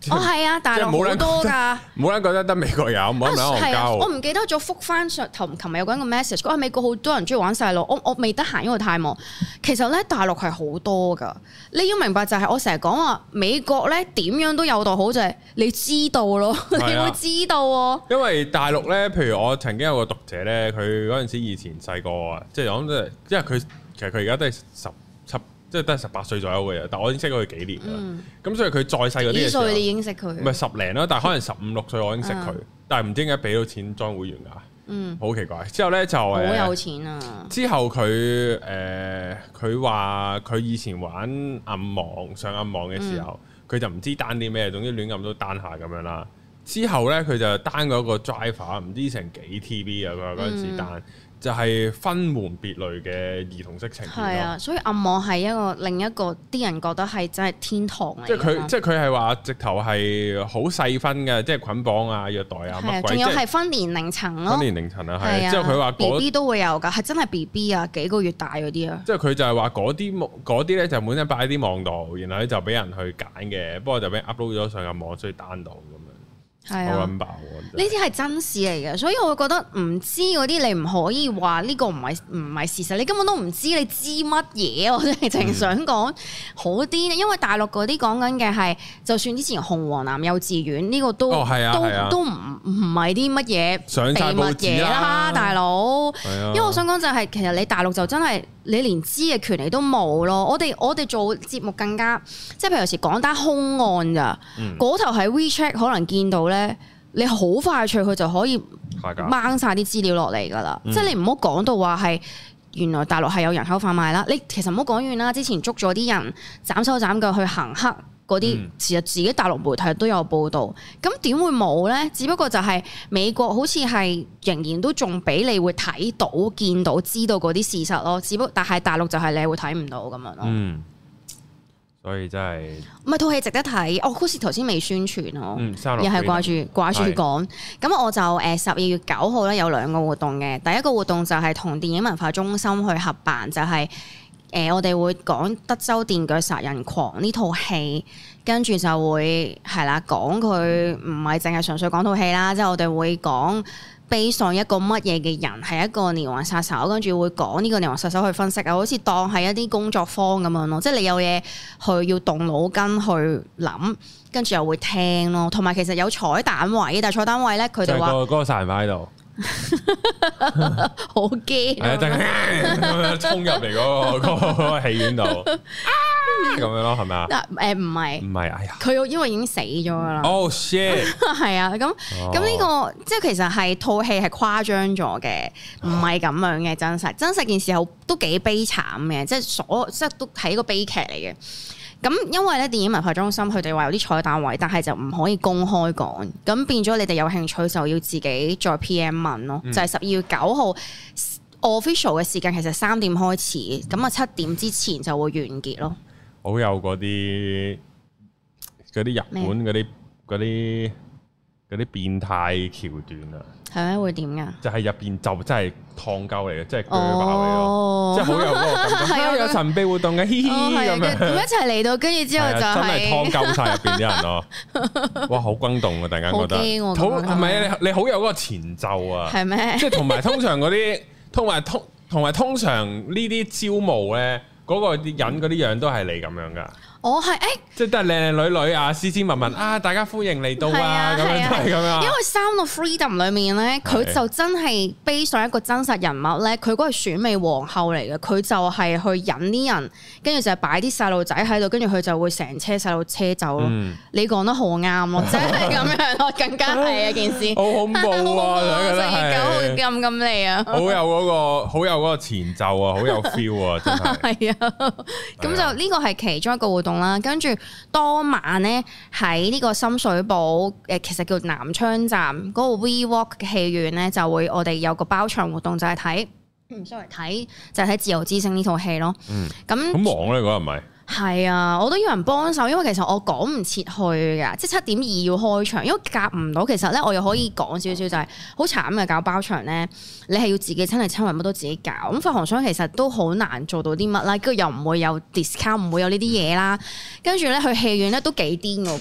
哦，係啊，大陸好多㗎， 冇人覺得得美國有，冇人喺韓我唔記得咗覆翻上頭，琴日有個人個 message，講美國好多人中意玩細路，我未得閒，因為太忙。其實咧，大陸係好多㗎，你要明白就係我成日講話美國咧點樣都有道好，就係你知道咯，你會知道喎。因為大陸咧，譬如我曾經有個讀者咧，佢嗰陣時以前細個啊，即係講即係，因為佢其實佢而家都係17，即係都係18歲左右嘅嘢，但我已經識咗佢幾年啦。咁所以佢再細嗰啲嘅時候，幾歲你已經識佢？唔係10零啦，但係可能15、6歲我已經識佢，但係唔知點解俾到錢裝會員㗎，好奇怪。之後咧就好有錢啊！ 之後佢話佢以前玩暗網上暗網嘅時候，佢就唔知單啲咩，總之亂咁都單下咁樣啦。之後咧佢就單嗰個 driver 唔知成幾 TB 啊！佢話嗰陣時單。就係分門別類嘅兒童色情片咯。係啊， 所以暗網係另一個啲人覺得係真係天堂嚟。 即係佢係話直頭係好細分嘅，即係捆綁啊、虐待啊乜鬼。仲有係分年齡層咯。 分年齡層啊，係。之後佢話 BB 都會有㗎，係真係 BB 啊，幾個月大嗰啲啊。 即係佢就係話嗰啲咧就本身擺喺啲網度，然後咧就俾人去揀嘅，不過就俾人 upload 咗上個網，所以單到咁樣。 係啊，呢啲係真事嚟嘅，所以我會覺得唔知嗰啲你唔可以話呢個唔係事實，你根本都唔知你知乜嘢，我真係淨想講好啲，因為大陸嗰啲講緊嘅係，就算之前紅黃藍幼稚園呢個都都唔係啲乜嘢秘密嘢啦，大佬。因為我想講就係其實你大陸就真係你連知嘅權利都冇咯。我哋做節目更加，即係譬如有時講單兇案咋，嗰頭喺 WeChat 可能見到咧，你好快脆佢就可以掹晒啲資料落嚟噶啦。即係你唔好講到話係原來大陸係有人口販賣啦。你其實唔好講完啦，之前捉咗啲人斬手斬腳去行黑嗰啲，其實自己大陸媒體都有報導。咁點會冇呢？只不過就係美國好似係仍然都仲俾你會睇到、見到、知道嗰啲事實咯。只不過但係大陸就係你會睇唔到咁樣咯。 所以真係唔係套戲值得睇，我好似頭先未宣傳咯，又係掛住講。咁我就12月9號咧有2個活動嘅，第一個活動就係同電影文化中心去合辦，就係我哋會講德州電鋸殺人狂呢套戲，跟住就會係啦講佢唔係淨係純粹講套戲啦，即係我哋會講based on一個乜嘢嘅人係一個連環殺手，跟住會講呢個連環殺手去分析啊，好似當係一啲工作坊咁樣咯，即係你有嘢去要動腦筋去諗，跟住又會聽咯，同埋其實有彩蛋位，但係彩蛋位咧佢哋話嗰個殺人犯喺度，好驚，係啊，真係衝入嚟嗰個戲院度。咁樣咯，係咪啊？ 唔係， 哎呀， 佢因為已經死咗噶啦。 Oh shit！ 係啊，咁呢個即係其實係套戲係誇張咗嘅，唔係咁樣嘅真實件事都幾悲慘嘅，即係都係一個悲劇嚟嘅。咁因為咧電影文化中心佢哋話有啲彩蛋位，但係就唔可以公開講，咁變咗你哋有興趣就要自己再 PM 問咯。就係12月9號 official 嘅時間，其實3點開始，咁啊7點之前就會完結咯。 好有嗰啲日本嗰啲變態橋段啊！ 係咩？會點㗎？ 就係入邊就真係燙鳩嚟嘅，即係鋸爆嚟咯！即係好有嗰個感覺。係有神秘活動嘅，嘻嘻咁樣。咁一齊嚟到，跟住之後就真係燙鳩晒入邊啲人咯！哇，好轟動啊！突然間覺得好係咪？你好有嗰個前奏啊！係咩？即係同埋通常嗰啲，同埋通常呢啲招募咧。嗰個人嗰啲樣都係你咁樣噶，我係即係都係靚靚女女啊，斯斯文文啊，大家歡迎嚟到啊，咁樣都係咁樣。因為《Sound of Freedom》裏面咧，佢就真係 base 上一個真實人物咧，佢嗰個選美皇后嚟嘅，佢就係去引啲人，跟住就係擺啲細路仔喺度，跟住佢就會成車細路車走咯。你講得好啱咯，真係咁樣咯，更加係一件事。好恐怖啊！12月9號咁嚟啊！好有嗰個前奏啊，好有 feel 啊，真係。係啊。咁就呢個係其中一個活動啦，跟住當晚咧喺呢個深水埗其實叫南昌站嗰個 WeWalk 嘅戲院咧，就會我哋有個包場活動，就係睇就係睇《自由之聲》呢套戲咯。咁好忙咧嗰日咪？係啊，我都要人幫手，因為其實我趕唔切去㗎，即係7:02要開場，因為夾唔到。其實咧，我又可以講少少，就係好慘嘅搞包場咧，你係要自己親力親為，乜都自己搞。咁發行商其實都好難做到啲乜啦，跟住又唔會有 discount，唔會有呢啲嘢啦。跟住咧去戲院咧都幾癲，我覺得。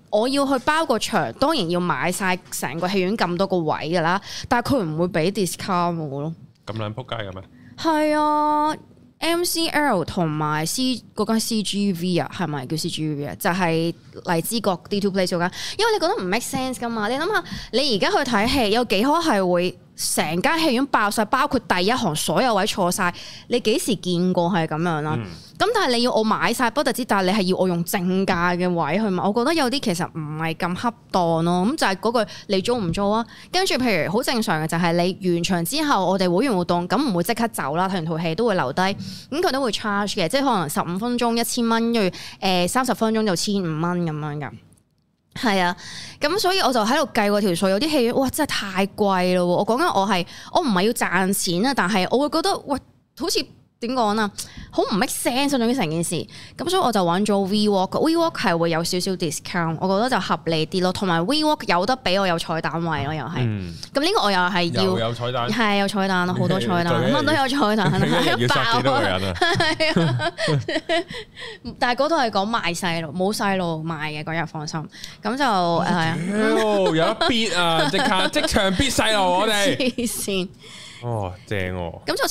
我要去包個場，當然要買晒成個戲院咁多個位㗎啦，但係佢唔會俾 discount 我咯。咁撚撲街嘅咩？ 係啊。MCL 同埋 C 嗰間 CGV 啊，係咪叫 CGV 啊？就係荔枝角 D2 Place 嗰間，因為你覺得唔 make sense 噶嘛？你諗下，你而家去睇戲有幾可係會成間戲院爆晒，包括第一行所有位坐晒，你幾時見過係咁樣啦？咁但係你要我買晒不特止，但係你係要我用正價嘅位去買，我覺得有啲其實唔係咁恰當咯。咁就係嗰句你租唔租啊？跟住譬如好正常嘅就係你完場之後，我哋會員活動咁唔會即刻走啦，睇完套戲都會留低，咁佢都會 charge 嘅，即係可能15分鐘1000蚊，跟住30分鐘就1500蚊咁樣㗎。係啊，咁所以我就喺度計過條數，有啲戲院哇真係太貴咯。我講緊我唔係要賺錢啊，但係我會覺得喂好似。點講啊？好唔 make sense 總之成件事，咁所以我就揾咗 WeWalk 係會有少少 discount，我覺得就合理啲咯。同埋 WeWalk 有得俾我有彩蛋位咯，又係。咁呢個我又係要有彩蛋， 係有彩蛋咯，好多彩蛋，乜都有彩蛋， 要殺幾多個人啊？係啊， 但係嗰度係講賣細路，冇細路賣嘅嗰日，放心。咁就有得 bid 啊！即場 bid 細路，我哋黐線。 哦，正喎！ 咁就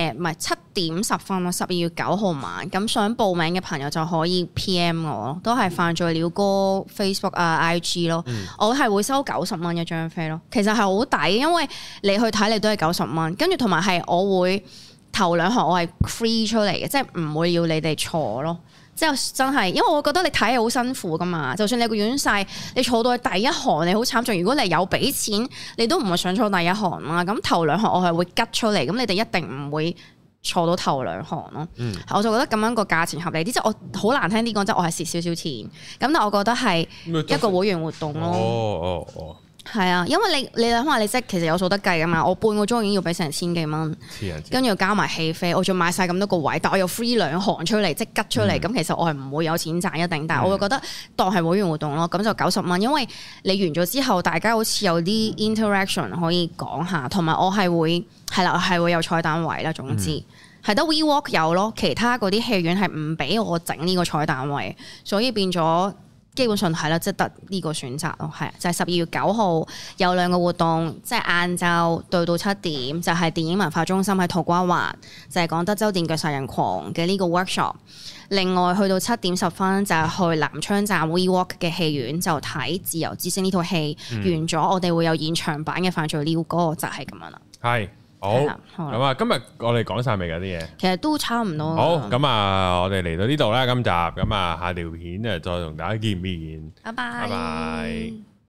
7點10分咯，12月9號晚。咁想報名嘅朋友就可以 PM 我咯，都係犯罪鳥歌 Facebook 啊 IG 咯。我係會收90蚊一張飛咯，其實係好抵，因為你去睇你都係90蚊，跟住同埋係我會頭2行我係 free 出嚟嘅，即係唔會要你哋坐咯。即係真係，因為我覺得你睇係好辛苦噶嘛。就算你個院細，你坐到去第一行，你好慘重。如果你有俾錢，你都唔會想坐第一行啦。咁頭2行我係會吉出嚟，咁你哋一定唔會坐到頭2行咯。我就覺得咁樣個價錢合理啲，即係我好難聽啲講，即係我係蝕少少錢。咁但係我覺得係一個會員活動咯。係啊，因為你諗下，你即係其實有數得計噶嘛。我半個鐘已經要俾成1000幾蚊，跟住加埋戲飛，我仲買晒咁多個位，但我又 free 2行出嚟，即係吉出嚟。咁其實我係唔會有錢賺一定，但係我會覺得當係會員活動咯。咁就90蚊，因為你完咗之後，大家好似有啲 interaction 可以講下，同埋我係會係啦，係會有彩蛋位啦。總之係得 WeWalk 有咯，其他嗰啲戲院係唔俾我整呢個彩蛋位，所以變咗。基本上係啦，即係得呢個選擇咯，係就係12月9號有2個活動，即係晏晝對到7點，就係電影文化中心喺土瓜灣，就係講德州電鋸殺人狂嘅呢個 workshop。另外去到7點10分就係去南昌站 WeWalk 嘅戲院就睇《自由之聲》呢套戲，完咗我哋會有現場版嘅犯罪鳥歌，就係咁樣啦。係。好，咁啊，今日我哋講晒未㗎啲嘢？其實都差唔多。好，咁啊，我哋嚟到呢度啦，今集咁啊，下條片啊，再同大家見面。拜拜。拜拜。